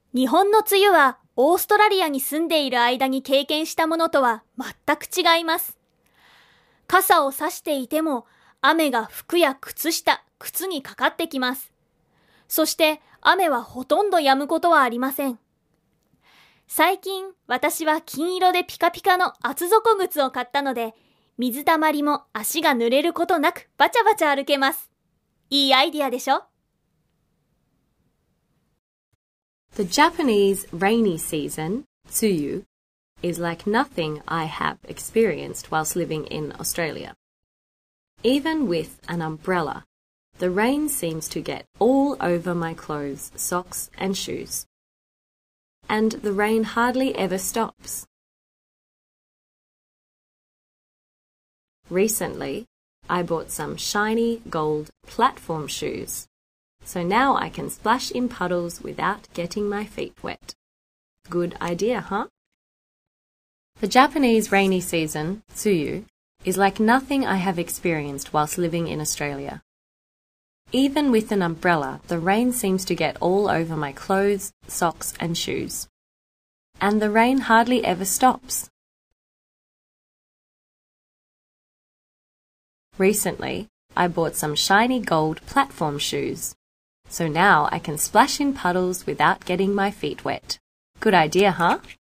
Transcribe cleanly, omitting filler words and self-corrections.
日本の梅雨はオーストラリアに住んでいる間に経験したものとは全く違います。傘を差していても雨が服や靴下、靴にかかってきます。そして雨はほとんど止むことはありません。最近私は金色でピカピカの厚底靴を買ったので、水たまりも足が濡れることなくバチャバチャ歩けます。いいアイディアでしょ？ The Japanese rainy season, tsuyu, is like nothing I have experienced whilst living in Australia. Even with an umbrella, the rain seems to get all over my clothes, socks and shoes. And the rain hardly ever stops. Recently, I bought some shiny gold platform shoes, so now I can splash in puddles without getting my feet wet. Good idea, huh? The Japanese rainy season, tsuyu, is like nothing I have experienced whilst living in Australia. Even with an umbrella, the rain seems to get all over my clothes, socks and shoes. And the rain hardly ever stops. Recently, I bought some shiny gold platform shoes, so now I can splash in puddles without getting my feet wet. Good idea, huh?